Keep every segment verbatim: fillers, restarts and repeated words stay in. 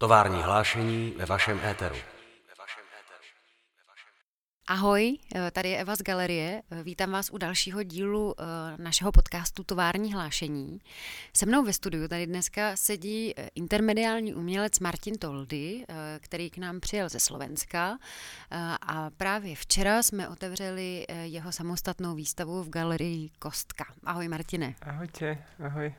Tovární hlášení ve vašem éteru. Ahoj, tady je Eva z Galerie. Vítám vás u dalšího dílu našeho podcastu Tovární hlášení. Se mnou ve studiu tady dneska sedí intermediální umělec Martin Toldy, který k nám přijel ze Slovenska. A právě včera jsme otevřeli jeho samostatnou výstavu v galerii Kostka. Ahoj Martine. Ahojte, ahoj.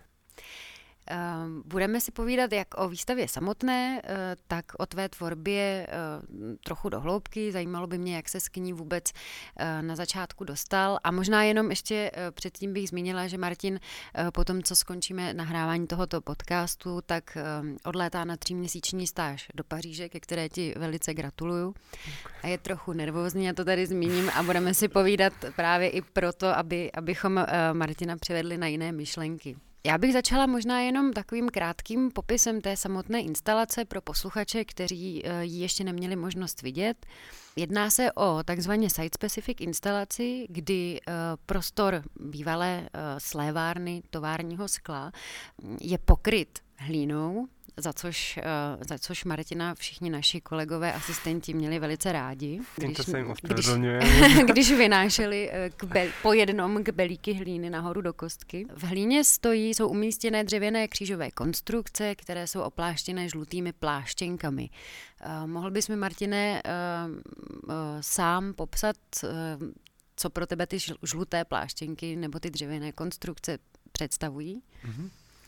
Budeme si povídat jak o výstavě samotné, tak o tvé tvorbě trochu do hloubky. Zajímalo by mě, jak ses k ní vůbec na začátku dostal. A možná jenom ještě předtím bych zmínila, že Martin po tom, co skončíme nahrávání tohoto podcastu, tak odlétá na tříměsíční stáž do Paříže, ke které ti velice gratuluju. A je trochu nervózní, já to tady zmíním a budeme si povídat právě i proto, aby, abychom Martina přivedli na jiné myšlenky. Já bych začala možná jenom takovým krátkým popisem té samotné instalace pro posluchače, kteří ji ještě neměli možnost vidět. Jedná se o takzvaně site-specific instalaci, kdy prostor bývalé slévárny továrního skla je pokryt hlínou, za což, za což Martina všichni naši kolegové asistenti měli velice rádi, když, když, když vynášeli k be, po jednom kbelíky hlíny nahoru do kostky. V hlíně stojí, jsou umístěné dřevěné křížové konstrukce, které jsou opláštěné žlutými pláštěnkami. Uh, mohl bys mi, Martine, uh, uh, sám popsat, uh, co pro tebe ty žluté pláštěnky nebo ty dřevěné konstrukce představují? Mm-hmm.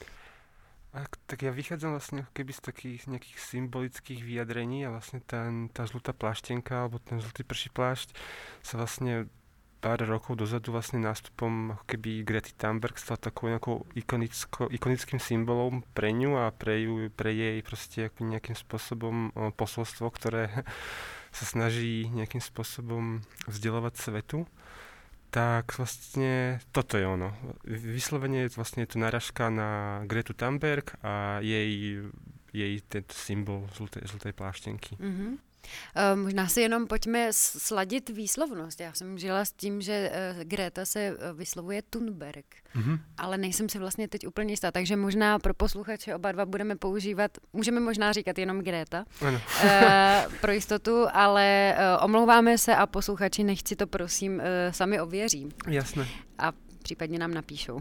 Tak ja vychádzam vlastne keby z takých nejakých symbolických vyjadrení a vlastne ten, tá žlutá pláštenka alebo ten žlutý prší plášť sa vlastne pár rokov dozadu vlastne nástupom ako keby Grety Thunberg stal takou nejakou ikonicko, ikonickým symbolom pre ňu a pre, ju, pre jej proste nejakým spôsobom posolstvo, ktoré sa snaží nejakým spôsobom vzdelovať svetu. Tak vlastne toto je ono. Vyslovene vlastne je to narážka na Gretu Thunberg a jej, jej tento symbol žlutej, žlutej pláštěnky. Mm-hmm. Uh, možná si jenom pojďme sladit výslovnost. Já jsem žila s tím, že uh, Greta se uh, vyslovuje Thunberg, mm-hmm. ale nejsem si vlastně teď úplně jistá, takže možná pro posluchače oba dva budeme používat, můžeme možná říkat jenom Greta ano. uh, pro jistotu, ale uh, omlouváme se a posluchači nechci to prosím uh, sami ověří. Jasné. A případně nám napíšou.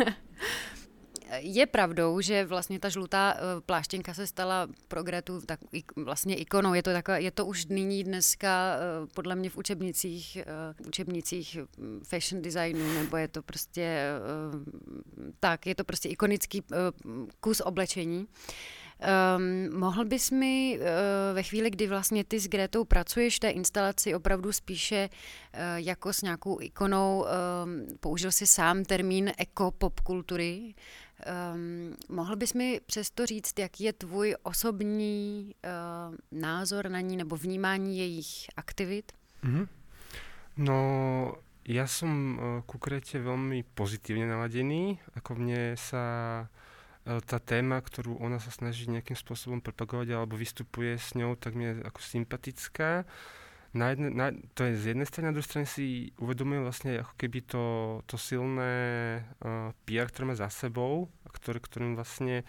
Je pravdou, že vlastně ta žlutá pláštěnka se stala pro Gretu tak vlastně ikonou. Je to, taková, je to už nyní dneska podle mě v učebnicích, učebnicích fashion designu, nebo je to prostě tak, je to prostě ikonický kus oblečení. Um, mohl bys mi uh, ve chvíli, kdy vlastně ty s Gretou pracuješ v té instalaci opravdu spíše uh, jako s nějakou ikonou, um, použil si sám termín eko-popkultury, um, mohl bys mi přesto říct, jaký je tvůj osobní uh, názor na ní nebo vnímání jejich aktivit? Mm-hmm. No, ja som uh, ku Grete veľmi pozitívne naladený, ako mne sa tá téma, ktorú ona sa snaží nejakým spôsobom propagovať alebo vystupuje s ňou, tak mi je ako sympatická. Na jedne, na, to je z jednej strany, na druhej strane si uvedomujem vlastne ako keby to, to silné uh, pé er, ktoré má za sebou, ktoré, ktorým vlastne,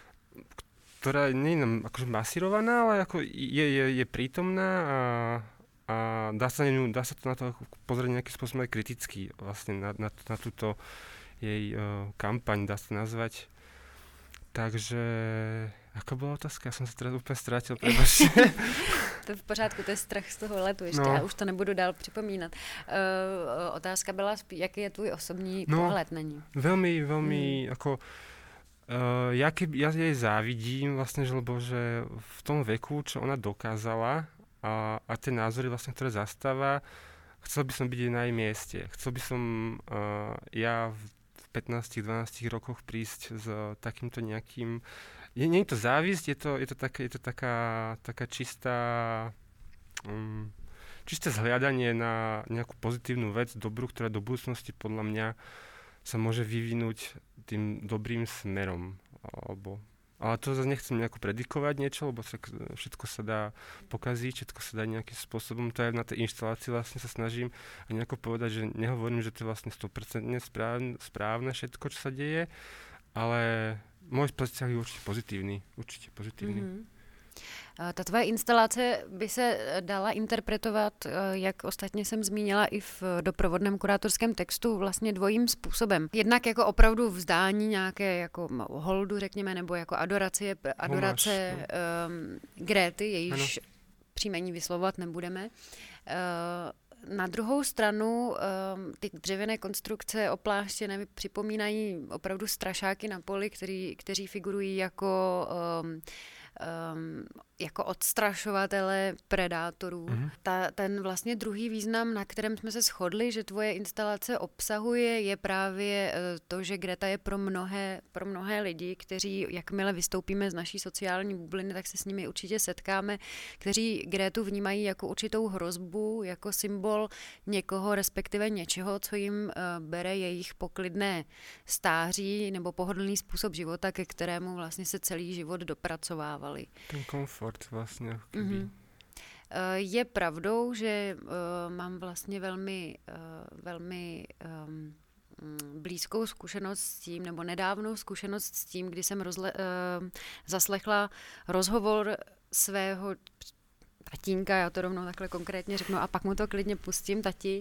ktorá nie je nám akože masírovaná, ale ako je, je, je prítomná a, a dá sa, ňu, dá sa to na to pozrieť nejakým spôsobom aj kriticky vlastne na, na, na túto jej uh, kampaň, dá sa nazvať. Takže, jaká byla otázka? Já jsem se teda úplně ztratil, prebačte. To v pořádku, to je strach z toho letu ještě, no. Já už to nebudu dál připomínat. Uh, otázka byla, jaký je tvůj osobní no, pohled na ní? Velmi, velmi, hmm. jako, uh, ja, keby, ja jej závidím vlastně, že, lebo že v tom veku, čo ona dokázala a, a tie názory vlastne, ktoré zastáva, chcel by som byť na jej mieste. Chcel by som uh, ja v pätnástich dvanástich rokoch prísť s takýmto nejakým... Je, nie je to závisť, je to, je to, také, je to taká, taká čistá... Um, čisté zhliadanie na nejakú pozitívnu vec, dobrú, ktorá do budúcnosti podľa mňa sa môže vyvinúť tým dobrým smerom. Alebo, ale to zase nechcem nejako predikovať niečo, lebo všetko sa dá pokaziť, všetko sa dá nejakým spôsobom. To aj na tej inštalácii vlastne sa snažím nejako povedať, že nehovorím, že to je vlastne sto percent správne, správne všetko, čo sa deje, ale môj vzťah je určite pozitívny. Určite pozitívny. Mm-hmm. Ta tvoje instalace by se dala interpretovat, jak ostatně jsem zmínila i v doprovodném kurátorském textu, vlastně dvojím způsobem. Jednak jako opravdu vzdání nějaké jako holdu, řekněme, nebo jako adorace, adorace Homáš, um, Gréty, jejíž ano. příjmení vyslovovat nebudeme. Uh, Na druhou stranu ty dřevěné konstrukce opláštěné připomínají opravdu strašáky na poli, který, kteří figurují jako, um, um, jako odstrašovatele predátorů. Mm-hmm. Ta, ten vlastně druhý význam, na kterém jsme se shodli, že tvoje instalace obsahuje, je právě to, že Greta je pro mnohé, pro mnohé lidi, kteří, jakmile vystoupíme z naší sociální bubliny, tak se s nimi určitě setkáme, kteří Grétu vnímají jako určitou hrozbu, jako symbol někoho, respektive něčeho, co jim uh, bere jejich poklidné stáří nebo pohodlný způsob života, ke kterému vlastně se celý život dopracovávali. Ten komfort vlastně. Mm-hmm. Je pravdou, že uh, mám vlastně velmi, uh, velmi um, blízkou zkušenost s tím, nebo nedávnou zkušenost s tím, kdy jsem rozle, uh, zaslechla rozhovor svého tatínka, já to rovnou takhle konkrétně řeknu a pak mu to klidně pustím, tati,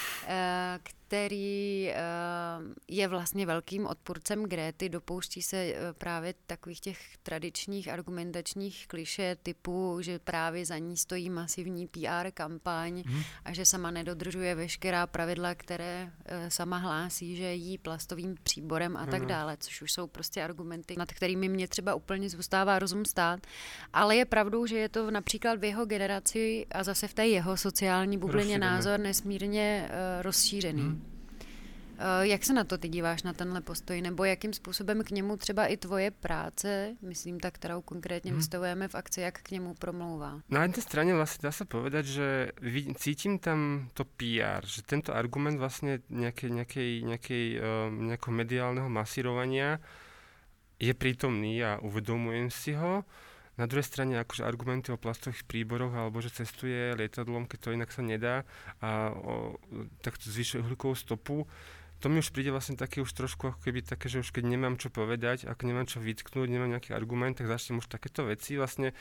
který je vlastně velkým odpůrcem Gréty, dopouští se právě takových těch tradičních argumentačních klišé typu, že právě za ní stojí masivní P R kampaň hmm. a že sama nedodržuje veškerá pravidla, které sama hlásí, že jí plastovým příborem a tak dále, což už jsou prostě argumenty, nad kterými mě třeba úplně zůstává rozum stát. Ale je pravdou, že je to například v jeho generaci a zase v té jeho sociální bublině názor nesmírně uh, rozšířený. Hmm. Uh, jak se na to ty díváš, na tenhle postoj, nebo jakým způsobem k němu třeba i tvoje práce, myslím ta, kterou konkrétně hmm. vystavujeme v akci, jak k němu promlouvá? Na jednej strane vlastne dá sa povedať, že cítim tam to P R, že tento argument vlastne nejakej, nejakej, nejakej, uh, nejakého mediálneho masírovania je prítomný a uvedomujem si ho. Na druhej strane akože argumenty o plastových príboroch alebo že cestuje lietadlom, keď to inak sa nedá a o, takto zvyšuje uhlíkovú stopu, to mi už príde vlastne také už trošku ako keby také, že už keď nemám čo povedať, ak nemám čo vytknúť, nemám nejaký argument, tak začnem už takéto veci. Vlastne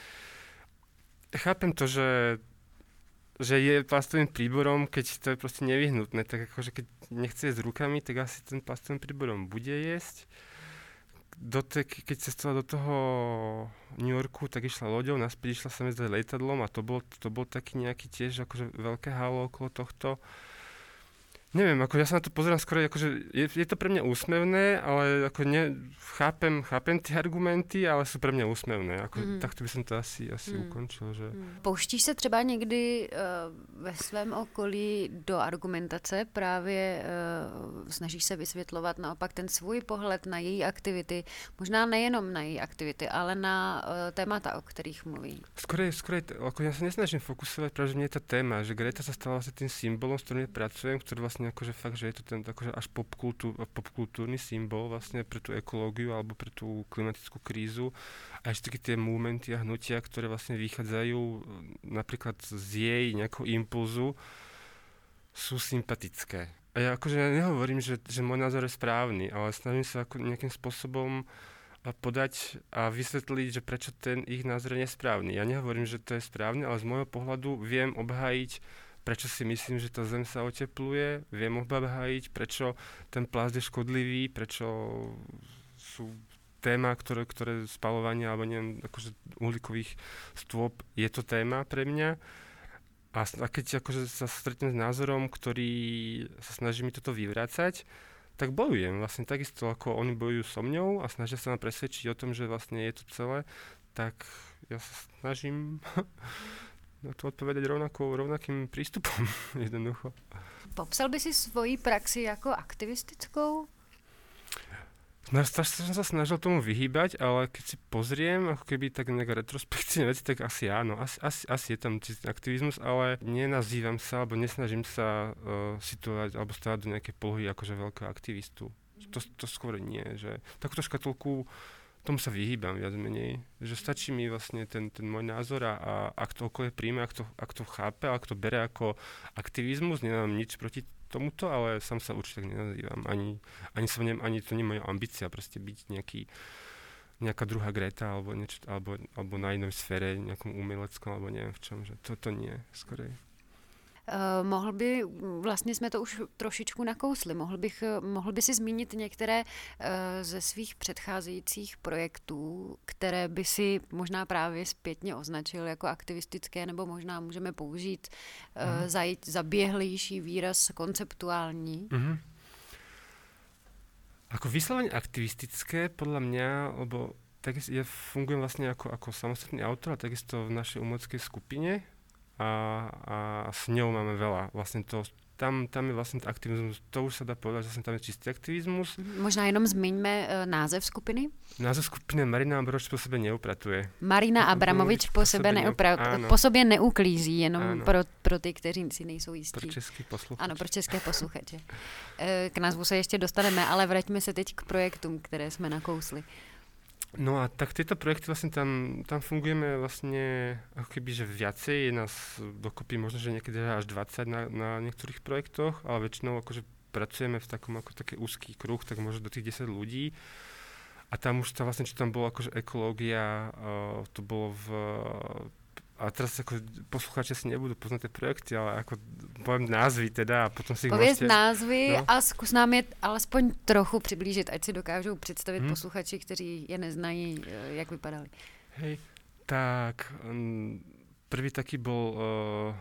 chápem to, že, že je plastovým príborom, keď to je proste nevyhnutné, tak akože keď nechce jesť rukami, tak asi ten plastovým príborom bude jesť. Do te, keď cestovala do toho New Yorku, tak išla loďou, naspäť išla sa mezdať lietadlom a to bol, to bol taký nejaký tiež akože veľké halo okolo tohto. Neviem, ako ja sa na to pozerám skoro, akože je, je to pre mňa úsmevné, ale ako ne, chápem, chápem tie argumenty, ale sú pre mňa úsmevné. Ako, mm. Takto by som to asi, asi mm. ukončil. Že... Pouštíš se třeba někdy uh, ve svém okolí do argumentace, právě uh, snažíš se vysvětlovat naopak ten svůj pohled na její aktivity, možná nejenom na její aktivity, ale na uh, témata, o kterých mluví? Skorej, skorej, ako ja sa nesnažím fokusovať, práve že mne je tá téma, že Greta sa stala vlastne tým symbolom, s ktorým pracujem, ktorý vlastne akože fakt, že je to ten akože až popkultúr, popkultúrny symbol vlastne pre tú ekológiu alebo pre tú klimatickú krízu a ešte také tie momenty a hnutia, ktoré vlastne vychádzajú napríklad z jej nejakého impulzu, sú sympatické. A ja akože nehovorím, že, že môj názor je správny, ale snažím sa ako nejakým spôsobom podať a vysvetliť, že prečo ten ich názor je nesprávny. Ja nehovorím, že to je správne, ale z môjho pohľadu viem obhájiť, prečo si myslím, že tá Zem sa otepluje, viem obhájiť, prečo ten plast je škodlivý, prečo sú téma, ktoré, ktoré spalovanie alebo neviem, akože uhlíkových stôp, je to téma pre mňa. A, a keď akože sa stretnem s názorom, ktorý sa snaží mi toto vyvracať, tak bojujem vlastne takisto, ako oni bojujú so mňou a snažia sa ma presvedčiť o tom, že vlastne je to celé, tak ja sa snažím na to odpovedať rovnakou, rovnakým prístupom jednoducho. Popsal by si svoji praxi jako aktivistickou? Strašne som sa snažil tomu vyhýbať, ale keď si pozriem, ako keby tak nejak retrospektívne veci, tak asi áno, asi, asi, asi je tam aktivizmus, ale nenazývam sa, alebo nesnažím sa uh, situovať, alebo stávať do nejakej polohy akože veľkého aktivistu. To, to skôr nie, že takúto škatulku, tomu sa vyhýbam viac menej, že stačí mi vlastne ten, ten môj názor a, a ak to okolie príjme, ak to, ak to chápe, ak to bere ako aktivizmus, nemám nič proti tomuto, ale sám sa určite tak nenazývam. Ani, ani, som ne, ani to nie je moja ambícia proste byť nejaký nejaká druhá Greta alebo, niečo, alebo, alebo na inej sfére, nejakom umeleckom, alebo neviem v čom, že toto nie, skorej. Uh, mohl by, vlastně jsme to už trošičku nakousli, mohl, bych, mohl by si zmínit některé uh, ze svých předcházejících projektů, které by si možná právě zpětně označil jako aktivistické, nebo možná můžeme použít uh, mm. zajít zaběhlejší výraz konceptuální? Mm-hmm. Ako vyslovene aktivistické, podľa mňa, lebo takisto ja fungujem vlastne ako, ako samostatný autor a takisto v našej umeleckej skupine. A, a s ňou máme veľa. Vlastne to, tam, tam je vlastne aktivizmus, to už sa dá povedať, že vlastne tam je čistý aktivizmus. Možná jenom zmiňme uh, název skupiny. Název skupiny Marina Abramovič po sebe neupratuje. Marina Abramovič po, po sebe neupratuje. Po sobě neuklízí, jenom pro, pro ty, kteří si nejsou jistí. Pro český posluchače. Ano, pro české posluchače. K názvu se ještě dostaneme, ale vraťme se teď k projektům, které jsme nakousli. No a tak tieto projekty vlastne tam, tam fungujeme vlastne ako keby, že viacej, je nás dokopy možno, že niekedy až dvadsať na, na niektorých projektoch, ale väčšinou akože pracujeme v takom ako taký úzký kruh, tak možno do tých desať ľudí. A tam už to vlastne, čo tam bolo akože ekológia, uh, to bolo v... A teraz ako poslucháči si nebudú poznať tie projekty, ale ako poviem názvy teda a potom si ich Pověz môžete... názvy no. a zkus nám je alespoň trochu přiblížit, ať si dokážou představit hmm. posluchači, kteří je neznají, jak vypadali. Hej, tak um, prvý taký bol... Uh,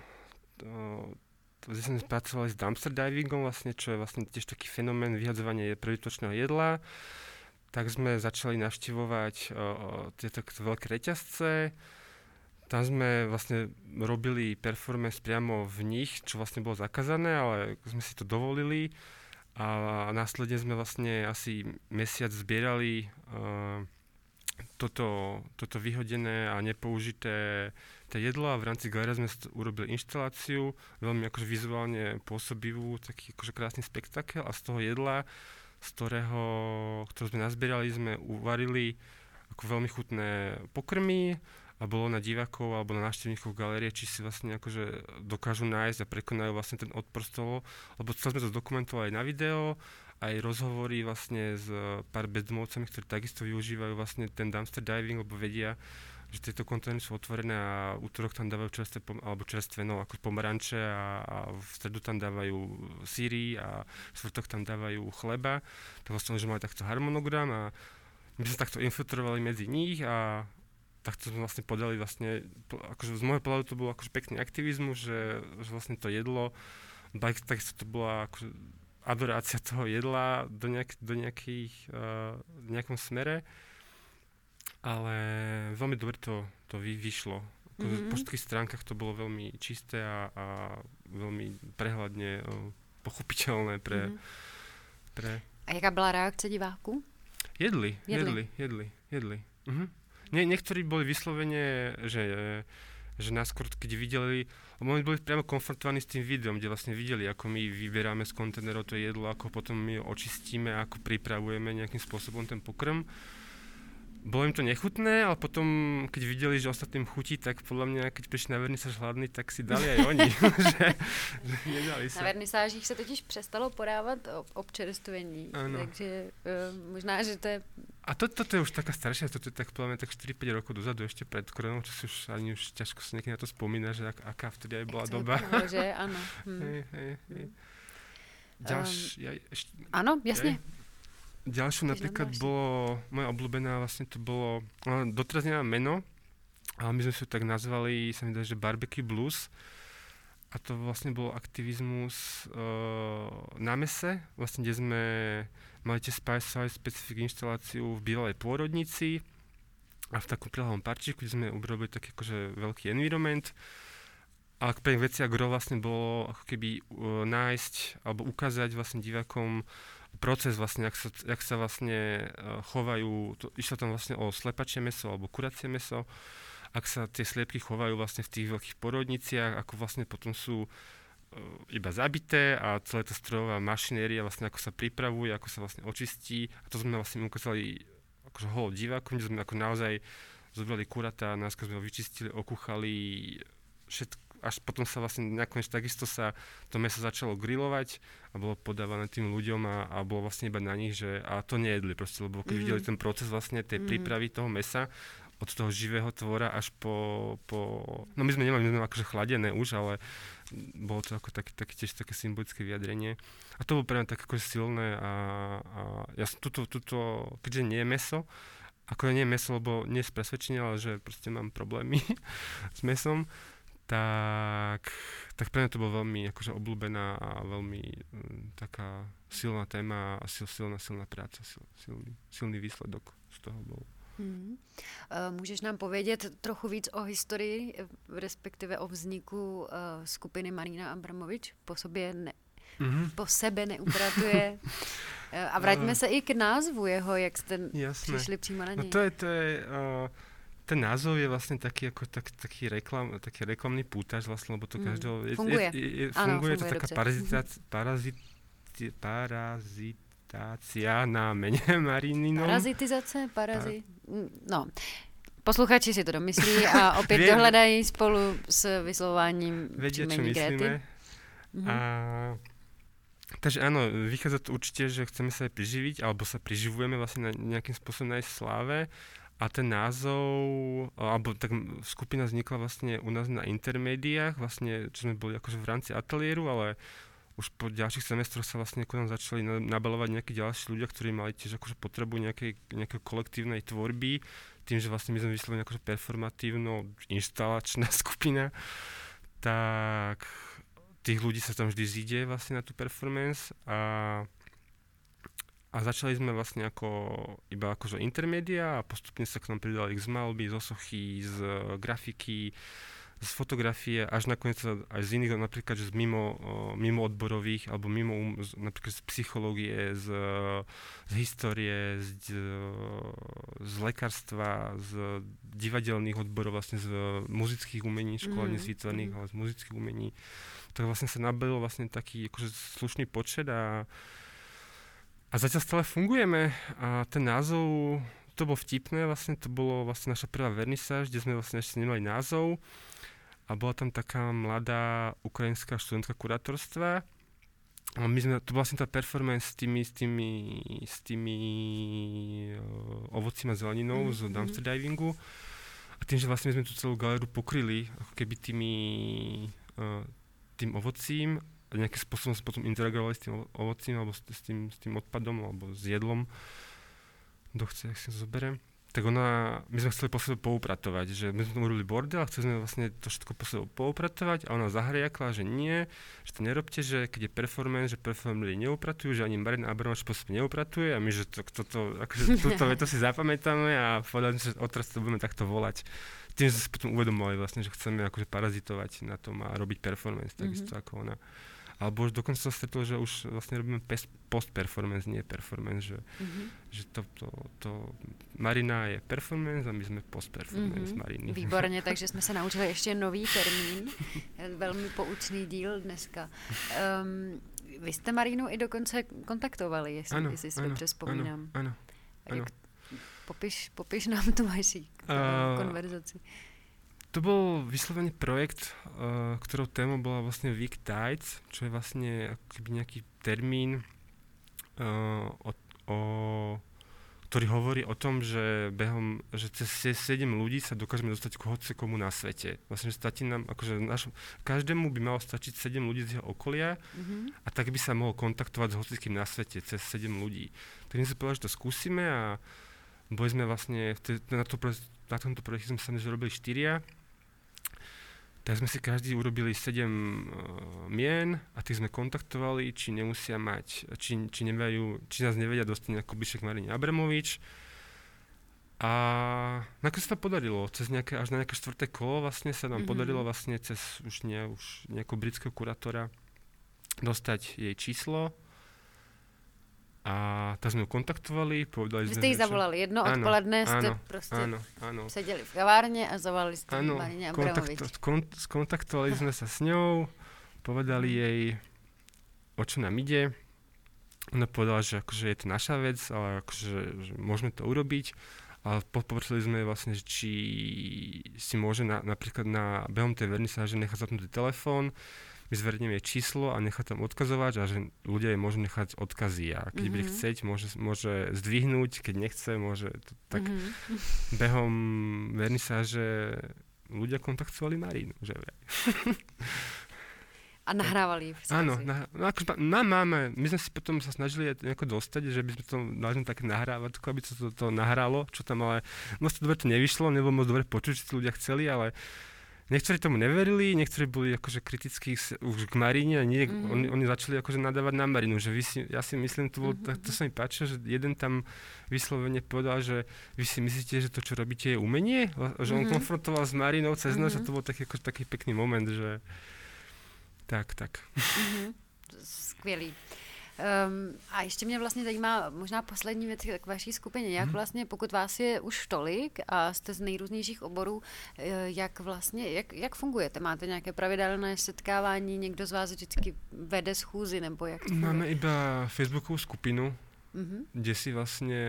uh, kde sme pracovali s dumpster divingom, vlastne, čo je vlastne tiež taký fenomén vyhadzovania prebytočného jedla. Tak sme začali navštevovať uh, tieto veľké reťazce. Tam sme vlastne robili performance priamo v nich, čo vlastne bolo zakázané, ale sme si to dovolili a následne sme vlastne asi mesiac zbierali uh, toto, toto vyhodené a nepoužité to jedlo a v rámci galérie sme urobili inštaláciu, veľmi akože vizuálne pôsobivú, taký akože krásny spektakel a z toho jedla, z ktorého, ktoré sme nazbierali, sme uvarili ako veľmi chutné pokrmy, a bolo na divákov alebo na návštevníkov galérie, či si vlastne akože dokážu nájsť a prekonajú vlastne ten odpor z toho, lebo celé sme to zdokumentovali aj na video, aj rozhovory vlastne s pár bezdomovcami, ktorí takisto využívajú vlastne ten dumpster diving, lebo vedia, že tieto kontajnery sú otvorené a útorok tam dávajú čerstvé, alebo čerstvé, no ako pomaranče a, a v stredu tam dávajú síry a v štvrtok tam dávajú chleba. Tak vlastne, že mali takto harmonogram a my sme takto infiltrovali medzi nich a takto sme vlastne podali vlastne, akože z môjho pohľadu to bol akože pekný aktivizmus, že, že vlastne to jedlo, takisto to bola akože adorácia toho jedla do, nejak, do nejakých, uh, nejakom smere, ale veľmi dobre to, to vy, vyšlo. Akože mm-hmm. Po všetkých stránkach to bolo veľmi čisté a, a veľmi prehľadne uh, pochopiteľné pre, mm-hmm. pre... A jaká byla reakce diváků? Jedli, jedli, jedli, jedli. Mhm. Nie, niektorí boli vyslovene, že, že nás skôr, keď videli, lebo oni boli priamo konfrontovaní s tým videom, kde vlastne videli, ako my vyberáme z kontajnerov to jedlo, ako potom my ho očistíme, ako pripravujeme nejakým spôsobom ten pokrm. Bolo im to nechutné, ale potom, keď videli, že ostatným chutí, tak podľa mňa, keď prišli na vernisáž hladný, tak si dali aj oni. že, že nedali sa. Na vernisážích se totiž přestalo podávat občerstvení, takže uh, možná, že to je... A to, toto je už taká staršia, toto je tak podľa mňa tak štyri päť rokov dozadu, ešte pred koronou, čo si už ani už ťažko sa niekedy na to spomína, že ak, aká vtedy aj bola Jak doba. Bylo, že áno. Hm. Hej, hej, hej. Ďalš, um, ja, ešte, áno, jasne. Hej. Ďalšou napríklad bolo, moja obľúbená vlastne to bolo, no, doteraz nemám meno, ale my sme si to tak nazvali, sa mi dá, že Barbecue Blues. A to vlastne bol aktivizmus uh, na mese, vlastne kde sme mali tiež Spice specific inštaláciu v bývalej pôrodnici a v takom prilahlom parčíku, kde sme urobili taký akože veľký environment. Ale pre veci a gro vlastne bolo ako keby uh, nájsť alebo ukázať vlastne divákom proces vlastne, jak sa, jak sa vlastne uh, chovajú, to, išlo tam vlastne o slepačie mäso alebo kuracie mäso, ak sa tie sliepky chovajú vlastne v tých veľkých porodniciach, ako vlastne potom sú uh, iba zabité a celá tá strojová mašinéria vlastne ako sa pripravuje, ako sa vlastne očistí a to sme vlastne ukázali akože holo divákom, kde sme ako naozaj zobrali kurata, nás sme ho vyčistili, okúchali, všetko, až potom sa vlastne nakoniec takisto sa to mäso začalo grilovať a bolo podávané tým ľuďom a, a bolo vlastne iba na nich, že a to nejedli proste, lebo keď mm. videli ten proces vlastne tej mm. prípravy toho mäsa od toho živého tvora až po, po... No my sme nemali, my sme akože chladené už, ale bolo to ako také, také tiež také symbolické vyjadrenie. A to bolo pre mňa tak akože silné a, a ja som tuto, tuto, keďže nie je mäso, ako nie je mäso, lebo nie z presvedčenia, ale že proste mám problémy s mäsom, tak, tak pre mňa to bolo veľmi akože obľúbená a veľmi um, taká silná téma a sil, silná, silná práca, sil, silný, silný výsledok z toho bol. Hmm. Můžeš nám povědět trochu víc o historii, respektive o vzniku uh, skupiny Marina Abramovič? Po sobě ne, mm-hmm. po sebe neupratuje. A vraťme se i k názvu jeho, jak jste Jasné. přišli přímo na něj. No to je, to je uh, ten názov je vlastne taký, ako, tak, taký, reklam, taký reklamný pútač vlastne, lebo to mm. každého... Funguje. Je, je, je, Áno, funguje, funguje to taká parazitácia, parazit, parazitácia na mene Marinino. Parazitizace, parazit... No, posluchači si to domyslí a opět dohledají spolu s vyslováním příjmení Gréty. Mm-hmm. A... Takže áno, vychádza to určite, že chceme sa aj priživiť, alebo sa priživujeme vlastne na nejakým spôsobom na jej sláve. A ten názov, alebo tak skupina vznikla vlastne u nás na intermédiách, vlastne, čo sme boli akože v rámci ateliéru, ale už po ďalších semestroch sa vlastne ku nám začali nabalovať nejakí ďalší ľudia, ktorí mali tiež akože potrebu nejakej, nejakej kolektívnej tvorby, tým, že vlastne my sme vyslovene akože performatívno inštalačná skupina, tak tých ľudí sa tam vždy zíde vlastne na tú performance a A začali sme vlastne ako, iba akože intermédia a postupne sa k nám pridali z malby, zo sochy, z grafiky, z fotografie, až nakoniec aj z iných, napríklad že z mimo, mimo odborových, alebo mimo, napríklad z psychológie, z, z histórie, z, z lekárstva, z divadelných odborov, vlastne z muzických umení, školení mm. výtvarných, ale z muzických umení. Tak vlastne sa nabilo vlastne taký akože slušný počet a A zatiaľ stále fungujeme a ten názov, to bolo vtipné, vlastne to bolo vlastne naša prvá vernisáž, kde sme vlastne ešte nemali názov a bola tam taká mladá ukrajinská študentka kurátorstva a my sme, to bola vlastne tá performance s tými, s tými, s tými uh, ovocím a zeleninou mm-hmm. z dumpster divingu a tým, že vlastne sme tú celú galéru pokryli ako keby tými, uh, tým ovocím a nejakým spôsobom sa potom interagovali s tým ovocím alebo s, s, tým, s tým odpadom alebo s jedlom, kto chce, ak si to zoberie. Tak ona, my sme chceli po sebe poupratovať, že my sme tomu robili bordel a chceli sme vlastne to všetko po sebe poupratovať a ona zahriakla, že nie, že to nerobte, že keď je performance, že performery neupratujú, že ani Marina Abramovič po sebe neupratuje a my, že to, to, to, akože túto vetu si zapamätáme a povedali, že odteraz to budeme takto volať. Tým sme sa potom uvedomovali vlastne, že chceme akože parazitovať na tom a robiť performance, takisto mm-hmm. ako ona. Alebo už dokonca som stretol, že už vlastne robíme post-performance, nie performance, že, mm-hmm. že to, to, to Marina je performance a my sme post-performance mm-hmm. Mariny. Výborně, takže jsme se naučili ještě nový termín, velmi poučný díl dneska. Um, vy jste Marinu i dokonce kontaktovali, jestli, ano, jestli si ano, dobře vzpomínám. Ano, ano. Jak, popiš, popiš nám tu vaši uh, konverzaci. To bol vyslovený projekt, uh, ktorou témou bola vlastne Week Tides, čo je vlastne akoby nejaký termín, uh, o, o, ktorý hovorí o tom, že behom, že cez sedem ľudí sa dokážeme dostať k hocikomu na svete. Vlastne, že stačí nám, akože našom, každému by malo stačiť sedem ľudí z jeho okolia mm-hmm. a tak by sa mohol kontaktovať s hocikým na svete cez sedem ľudí. Tak my sme povedali, že to skúsime a boli sme vlastne, te, na, to, na tomto projekte sme sa robili štyria. Tak sme si každý urobili sedem uh, mien a tých sme kontaktovali, či nemusia mať, či, či, nevejú, či nás nevedia dostať ako Bišek Marine Abramovič. A nakoniec sa to podarilo. Cez nejaké, až na nejaké štvrté kolo vlastne sa nám mm-hmm. podarilo vlastne cez už, nie, už nejakého britského kurátora dostať jej číslo. A tak sme ju kontaktovali, povedali Vy sme... jste jí zavolali jedno áno, odpoledne, jste áno, prostě áno, áno. seděli v kavárně a zavolali jste áno, Marině Abramovič. Kontakt, kont, skontaktovali sme sa s ňou, povedali jej, o čo nám ide. Ona povedala, že akože je to naša vec, ale akože že môžeme to urobiť. ale poprosili sme vlastne, že či si môže na, napríklad na behom tej vernisáže nechať zapnutý telefón, my zverneme číslo a nechať tam odkazovať a že ľudia jej môžu nechať odkazy a keď mm-hmm. bude chcieť, môže, môže zdvihnúť, keď nechce, môže to, tak mm-hmm. behom vernisáže ľudia kontaktovali Marínu, že vraj. A nahrávali v Áno, na, no akože, na máme, my sme si potom sa snažili nejako dostať, že by sme to dali také nahrávať, aby sa to, to nahralo, čo tam ale moc dobre to nevyšlo, nebolo moc dobre počuť, čo ľudia chceli, ale niektorí tomu neverili, niektorí boli akože kritickí už k Maríne a nie, mm-hmm. oni, oni začali akože nadávať na Marínu, že vy si, ja si myslím, to, bol, mm-hmm. to sa mi páčilo, že jeden tam vyslovene povedal, že vy si myslíte, že to, čo robíte, je umenie? Že on mm-hmm. konfrontoval s Marínou cez mm-hmm. noc a to bol taký, akože, taký pekný moment, že tak, tak. Mm-hmm. Skvělý. Um, a ještě mě vlastně zajímá možná poslední věc k vaší skupině. Jak vlastně, pokud vás je už tolik a jste z nejrůznějších oborů, jak vlastně, jak, jak fungujete? Máte nějaké pravidelné setkávání? Někdo z vás vždycky vede schůzi? Nebo jak to funguje? Máme iba Facebookovú skupinu, mm-hmm. kde si vlastne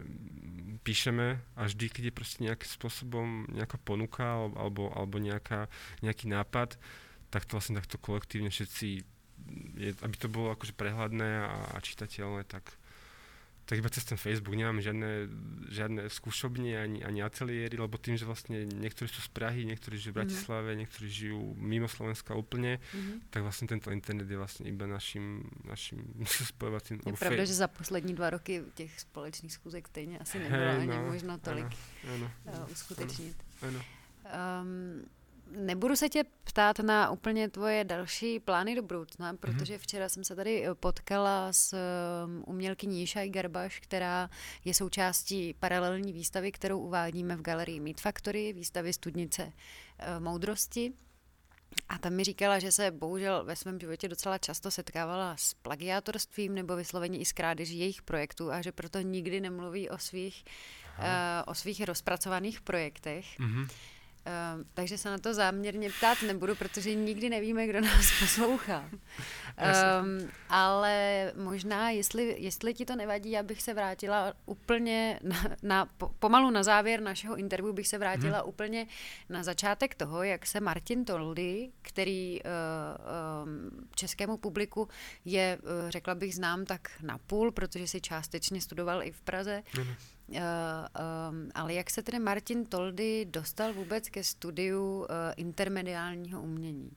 píšeme a vždy, keď je proste nejakým spôsobom nejaká ponuka alebo, alebo nejaká, nejaký nápad, tak to vlastne takto kolektívne všetci, je, aby to bolo akože prehľadné a, a čitateľné, tak, tak iba cez ten Facebook nemáme žiadne, žiadne skúšobne ani, ani ateliéry, lebo tým, že vlastne niektorí sú z Prahy, niektorí žijú v Bratislave, mm-hmm. niektorí žijú mimo Slovenska úplne, mm-hmm. tak vlastne tento internet je vlastne iba našim, našim spojovacím. Je pravda, fej... že za poslední dva roky těch společných schůzek stejně asi nebylo hey, ani no, možno tolik ano, ano, uskutečnit. Ano. Um, Nebudu se tě ptát na úplně tvoje další plány do budoucna, protože včera jsem se tady potkala s umělkyní Šaj Garbaš, která je součástí paralelní výstavy, kterou uvádíme v galerii Meat Factory, výstavy Studnice moudrosti. A tam mi říkala, že se bohužel ve svém životě docela často setkávala s plagiátorstvím nebo vysloveně i s krádeží jejich projektů a že proto nikdy nemluví o svých, uh, o svých rozpracovaných projektech. Mm-hmm. Uh, takže se na to záměrně ptát nebudu, protože nikdy nevíme, kdo nás poslouchá. Um, ale možná, jestli, jestli ti to nevadí, já bych se vrátila úplně na, na, pomalu na závěr našeho interview bych se vrátila hmm. úplně na začátek toho, jak se Martin Toldy, který uh, um, českému publiku je, uh, řekla bych, znám tak napůl, protože si částečně studoval i v Praze. Hmm. Uh, um, ale jak se tedy Martin Toldy dostal vůbec ke studiu uh, intermediálního umění?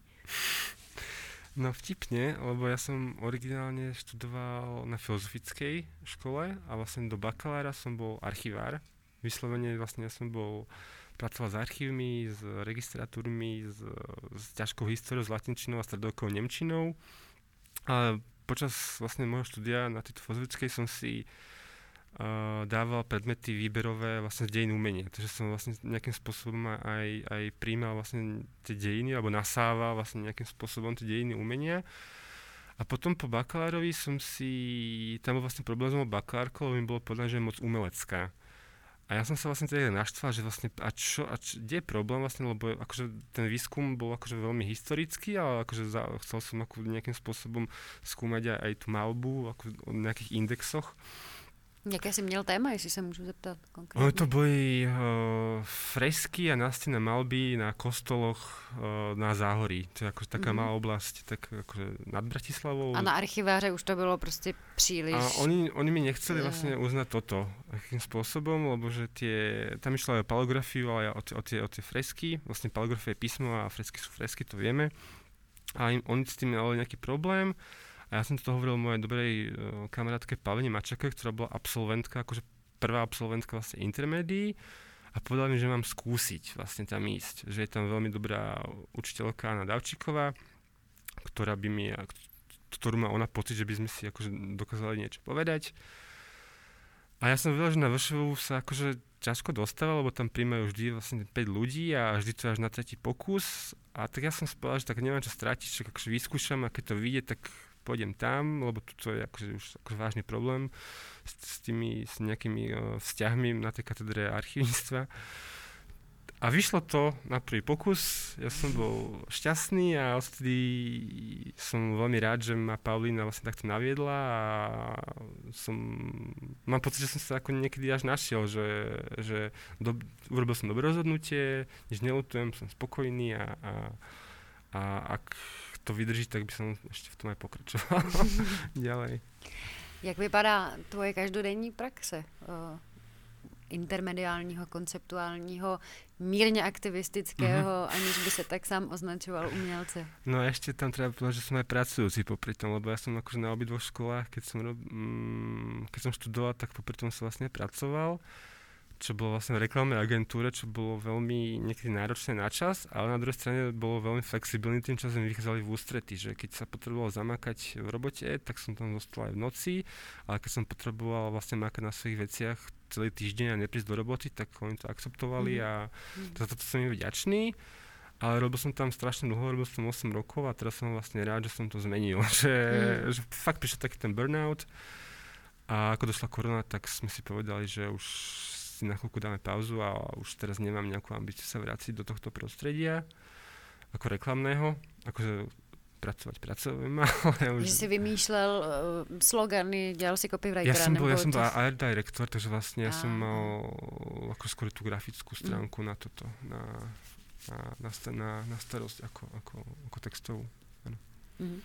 No vtipne, lebo ja som originálne študoval na filozofickej škole a vlastne do bakalára som bol archivár. Vyslovene vlastne ja som bol, pracoval s archívmi, s registratúrmi, s, s ťažkou históriou, s latinčinou a stredovekou nemčinou. A počas vlastne môjho štúdia na tejto filozofickej som si Uh, dával predmety výberové vlastne z dejín umenia. Takže som vlastne nejakým spôsobom aj, aj prijímal vlastne tie dejiny, alebo nasával vlastne nejakým spôsobom tie dejiny umenia. A potom po bakalárovi som si, tam bol vlastne problém s mojou bakalárkou, lebo mi bolo povedané, že je moc umelecká. A ja som sa vlastne teda naštval, že vlastne, a čo, a čo, kde je problém vlastne, lebo akože ten výskum bol akože veľmi historický, ale akože za, chcel som ako nejakým spôsobom skúmať aj, aj tú malbu, ako o nejakých indexoch. Jaké jsi měl téma, jestli se můžu zeptat konkrétně? No, to boli uh, fresky a nástěnné malby na kostoloch uh, na Záhorí. To je jako taká mm. malá oblasť, tak akože nad Bratislavou. A na archiváře už to bylo prostě příliš. A oni, oni mi nechceli vlastne uznať toto akým spôsobom, lebo že tie, tam išlo aj o palografiu, ale o, o, tie, o tie fresky. Vlastne palografia je písmo a fresky sú fresky, to vieme. A im, oni s tým mali nejaký problém. A ja som to hovoril mojej dobrej uh, kamarátke Pavline Mačake, ktorá bola absolventka, akože prvá absolventka vlastne intermédií a povedala mi, že mám skúsiť vlastne tam ísť. Že je tam veľmi dobrá učiteľka Anna Davčíková, ktorá by mi, ktorú má ona pocit, že by sme si akože dokázali niečo povedať. A ja som vedel, že na vé š vé sa akože ťažko dostáva, lebo tam príjmajú vždy vlastne päť ľudí a vždy to až na tretí pokus. A tak ja som si povedal, že tak nemám čo stratiť, že akože vyskúšam a keď to vyjde, tak pôjdem tam, lebo to je akože už akože vážny problém s, s tými s nejakými uh, vzťahmi na tej katedre archívnictva. A A vyšlo to na prvý pokus, ja som bol šťastný a odtedy som veľmi rád, že ma Paulína vlastne takto naviedla a som, mám pocit, že som sa ako niekedy až našiel, že, že do, urobil som dobré rozhodnutie, nič neľutujem, som spokojný a, a, a ak to vydrží, tak by som ešte v tom aj pokračoval ďalej. Jak vypadá tvoje každodenní praxe? Uh... intermediálního, konceptuálního, mírně aktivistického, mm-hmm. aniž by se tak sám označoval umělce. No a ešte tam treba povedať, že som aj pracujúci popri tom, lebo ja som akože na obidvoch školách, keď som, mm, keď som študoval, tak popri tom som vlastne pracoval, čo bolo vlastne v reklamnej agentúre, čo bolo veľmi niekedy náročné na čas, ale na druhej strane bolo veľmi flexibilný, tým časom vychádzali v ústrety, že keď sa potreboval zamakať v robote, tak som tam zostal aj v noci, ale keď som potreboval vlastne makať na svojich veciach celý týždeň a neprísť do roboty, tak oni to akceptovali mm. a za toto som im vďačný. Ale robil som tam strašne dlho, robil som osem rokov a teraz som vlastne rád, že som to zmenil. Že, mm. že fakt prišiel taký ten burnout a ako došla korona, tak sme si povedali, že už si na chvíľku dáme pauzu a už teraz nemám nejakú ambíciu sa vrátiť do tohto prostredia ako reklamného. Akože pracovať pracujem, ale už... Že si vymýšlel uh, slogany, dělal si copywritera, ja som bol, nebo... Ja som to... bol art director, takže vlastne ja a... som mal ako skôr tú grafickú stránku mm. na toto, na, na, na, na, na starosť ako, ako, ako textovú. Ano. Mm.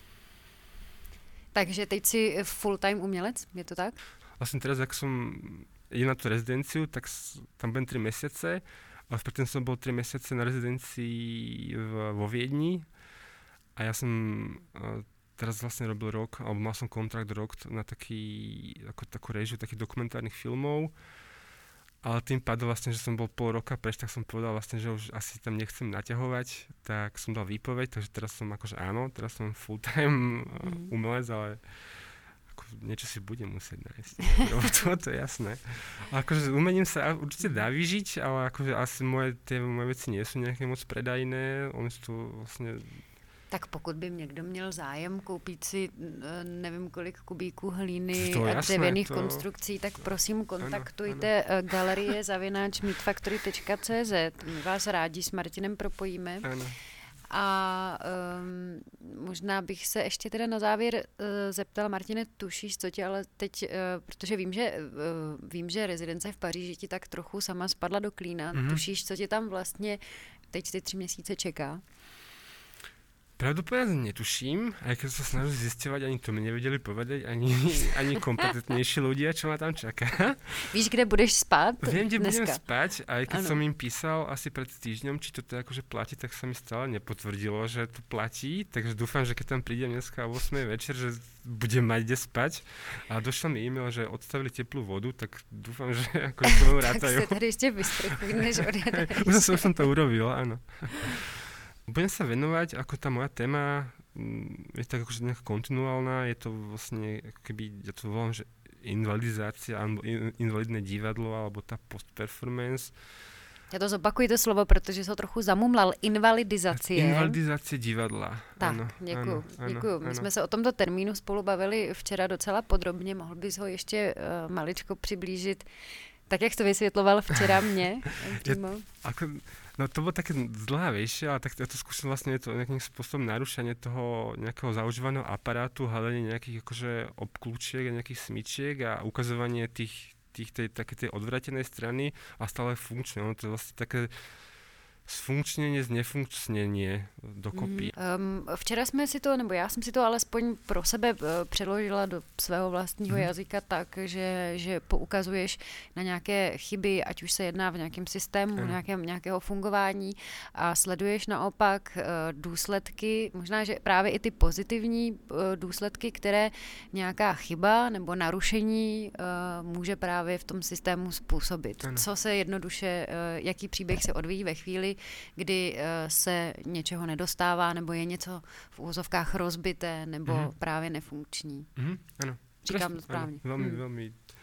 Takže teď si full-time umělec, je to tak? Vlastne teraz, ak som idem na tú rezidenciu, tak tam budem tri mesiace, ale predtým som bol tri mesiace na rezidencii v, vo Viedni. A ja som uh, teraz vlastne robil rok, alebo mal som kontrakt rok na taký, ako takú režiu takých dokumentárnych filmov. Ale tým pádom vlastne, že som bol pol roka preč, tak som povedal vlastne, že už asi tam nechcem naťahovať, tak som dal výpoveď, takže teraz som akože áno, teraz som full-time mm. umelec, ale ako niečo si budem musieť nájsť. to, to je jasné. A akože umením sa určite dá vyžiť, ale akože asi moje, tie moje veci nie sú nejaké moc predajné, oni sú tu vlastne... Tak pokud by někdo měl zájem koupit si nevím kolik kubíků hlíny to a jasné, dřevěných to... konstrukcí, tak prosím kontaktujte ano, ano. galerie zavináč meetfactory tečka cé zet. My vás rádi s Martinem propojíme. Ano. A um, možná bych se ještě teda na závěr uh, zeptala, Martine, tušíš, co tě ale teď, uh, protože vím, že uh, vím, že rezidence v Paříži ti tak trochu sama spadla do klína, mm-hmm. tušíš, co tě tam vlastně teď ty tři měsíce čeká? Pravdu povedať netuším, aj keď sa snažím zisťovať, ani to mi nevedeli povedať, ani, ani kompetentnejší ľudia, čo ma tam čaká. Víš, kde budeš spať Viem, kde dneska? budem spať, aj keď ano. som im písal asi pred týždňom, či to teda akože platí, tak sa mi stále nepotvrdilo, že to platí, takže dúfam, že keď tam prídem dneska o ôsmej večer, že budem mať kde spať. A došlo mi e-mail, že odstavili teplú vodu, tak dúfam, že akože to rátajú. Tak si tady ešte vysprchuj, než odjedeš. Už som, som to urobil, áno. Budem sa venovať, ako tá moja téma je tak akože nejaká kontinuálna, je to vlastne, keby, ja to volám, že invalidizácia, alebo invalidné divadlo, alebo tá post-performance. Ja to zopakuji to slovo, protože som trochu zamumlal. Invalidizácie. Invalidizácie divadla. Tak, ano, děkuju. Ano, děkuju. ano, My ano. jsme se o tomto termínu spolu bavili včera docela podrobně. Mohl bys ho ještě uh, maličko přiblížit, tak jak to vysvětloval včera mne? Ja, ako, no to bolo také zdlhavejšie, ale tak ja to skúsim vlastne to nejakým spôsobom narušenie toho nejakého zaužívaného aparátu, hľadanie nejakých akože obklúčiek a nejakých smyčiek a ukazovanie tých, tých tej, také tej odvratenej strany a stále funkčné. Ono to je vlastne také sfunkčnění, znefunkčnění dokopy. Um, včera jsme si to, nebo já jsem si to alespoň pro sebe uh, přeložila do svého vlastního mm. jazyka tak, že, že poukazuješ na nějaké chyby, ať už se jedná v nějakém systému, mm. nějakém, nějakého fungování a sleduješ naopak uh, důsledky, možná, že právě i ty pozitivní uh, důsledky, které nějaká chyba nebo narušení uh, může právě v tom systému způsobit. Mm. Co se jednoduše, uh, jaký příběh se odvíjí ve chvíli, kdy uh, se něčeho nedostává, nebo je něco v úvozovkách rozbité, nebo mm-hmm. právě nefunkční. Mm-hmm, ano. Říkám to správně. Ano, veľmi, mm. veľmi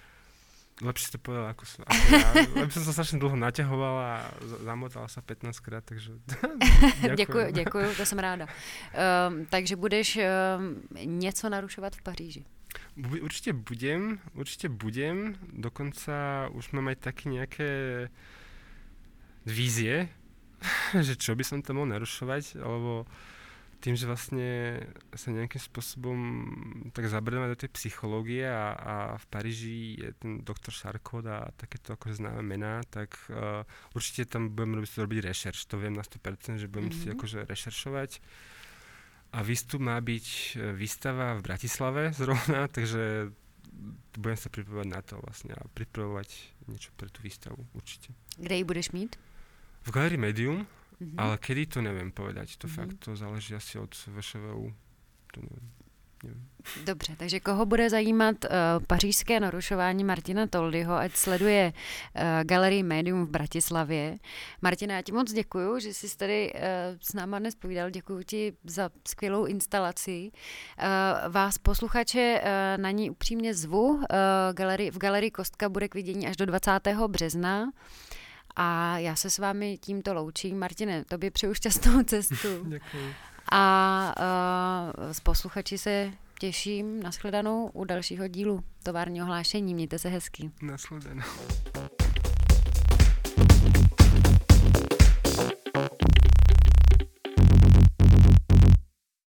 lepšie to povedala ako som. Ako ja. Lebo som sa strašne dlho naťahovala a zamotala sa pätnásťkrát, takže děkuju, děkuju, to jsem ráda. Um, takže budeš um, něco narušovat v Paříži? Určite budem, určite budem. Dokonca už mám aj také nejaké vízie, že čo by som tam mohol narušovať, alebo tým, že vlastne sa nejakým spôsobom tak zabrdeme do tej psychológie a, a v Paríži je ten doktor Charcot a takéto akože známe mená, tak uh, určite tam budem robiť, robiť rešerš. To viem na sto percent, že budem mm-hmm. si akože rešeršovať. A výstup má byť výstava v Bratislave zrovna, takže budem sa pripravovať na to vlastne a pripravovať niečo pre tú výstavu určite. Kde ji budeš mít? V Galerii Medium, mm-hmm. ale kedy to neviem povedať. To mm-hmm. fakt, to záleží asi od vé š vé ú. To neviem. neviem. Dobře, takže koho bude zajímat uh, pařížské narušování Martina Toldyho, ať sleduje uh, Galerii Medium v Bratislavě. Martina, já ti moc děkuju, že jsi tady uh, s náma dnes povídal. Děkuju ti za skvělou instalaci. Uh, vás posluchače uh, na ní upřímně zvu. Uh, galerii, v Galerii Kostka bude k vidění až do dvacátého března. A já se s vámi tímto loučím. Martine, tobě přeju šťastnou cestu. Děkuji. A uh, s posluchači se těším. Nashledanou u dalšího dílu Továrního hlášení. Mějte se hezky. Nashledanou.